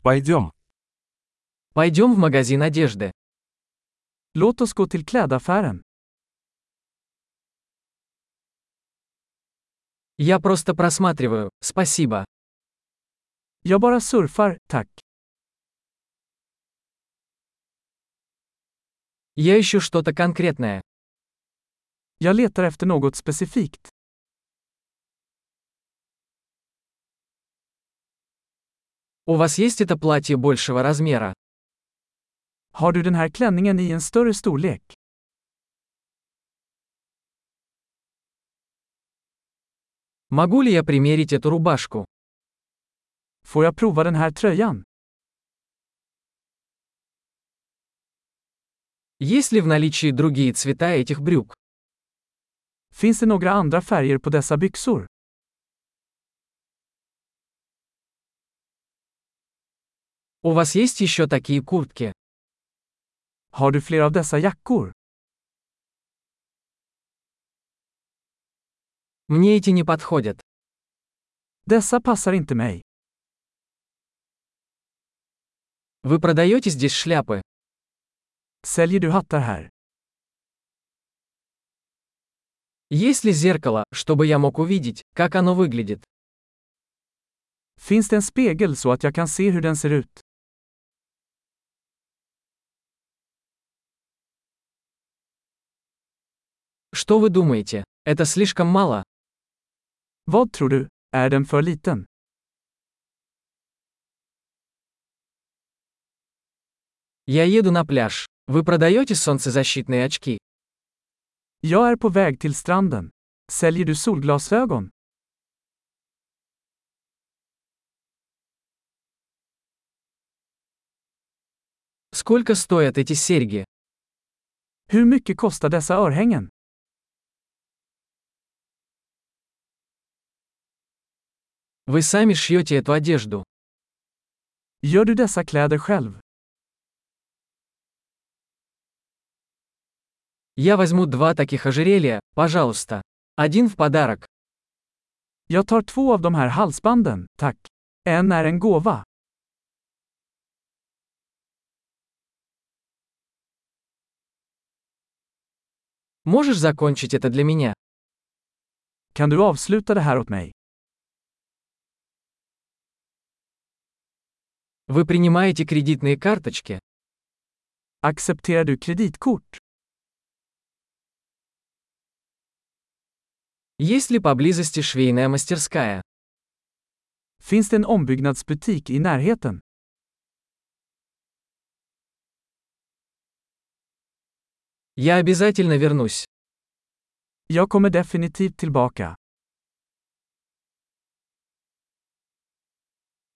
Пойдем. Пойдем в магазин одежды. Låt oss gå till klädaffären. Я просто просматриваю, спасибо. Jag bara surfar, tack. Я ищу что-то конкретное. Jag letar efter något specifikt. У вас есть это платье большего размера? Har du den här klänningen i en större storlek? Могу ли я примерить эту рубашку? Får jag prova den här tröjan? Есть ли в наличии другие цвета этих брюк? Finns det några andra färger på dessa byxor? У вас есть еще такие куртки? Har du fler av dessa jackor? Мне эти не подходят. Dessa passar inte mig. Вы продаете здесь шляпы? Säljer du hattar här? Есть ли зеркало, чтобы я мог увидеть, как оно выглядит? Finns det en spegel så att jag kan se hur den ser ut? Что вы думаете? Это слишком мало? Vad tror du? Är den för liten? Я еду на пляж. Вы продаете солнцезащитные очки? Jag är på väg till stranden. Säljer du solglasögon? Сколько стоят эти серьги? Hur mycket kostar dessa örhängen? Вы сами шьете эту одежду. Gör du dessa kläder själv? Я возьму 2 таких ожерелья, пожалуйста. Один в подарок. Jag tar 2 av de här halsbanden, tack. En är en gåva. Можешь закончить это для меня? Kan du avsluta det här åt mig? Вы принимаете кредитные карточки? Accepterar du kreditkort? Есть ли поблизости швейная мастерская? Finns det en ombyggnadsbutik i närheten? Я обязательно вернусь. Jag kommer definitivt tillbaka.